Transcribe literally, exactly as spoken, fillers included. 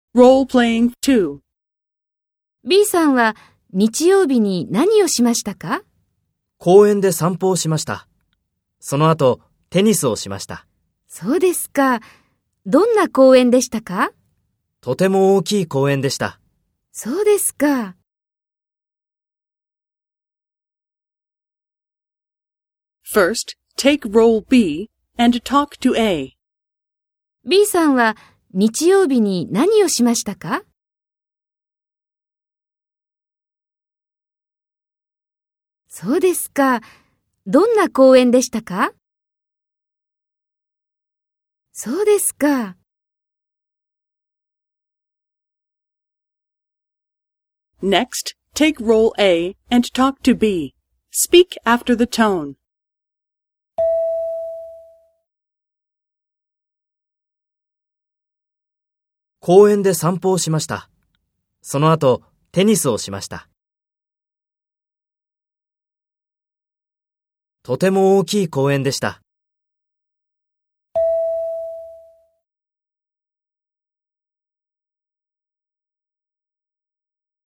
Role-playing two. B さんは日曜日に何をしましたか？ 公園で散歩をしました。その後、テニスをしました。 そうですか。どんな公園でしたか？ とても大きい公園でした。 そうですか。 First, take role B and talk to A. B さんは日曜日に何をしましたか？そうですか。どんな公園でしたか？そうですか。 Next, take role A and talk to B. Speak after the tone. 公園で散歩をしました。その後、テニスをしました。とても大きい公園でした。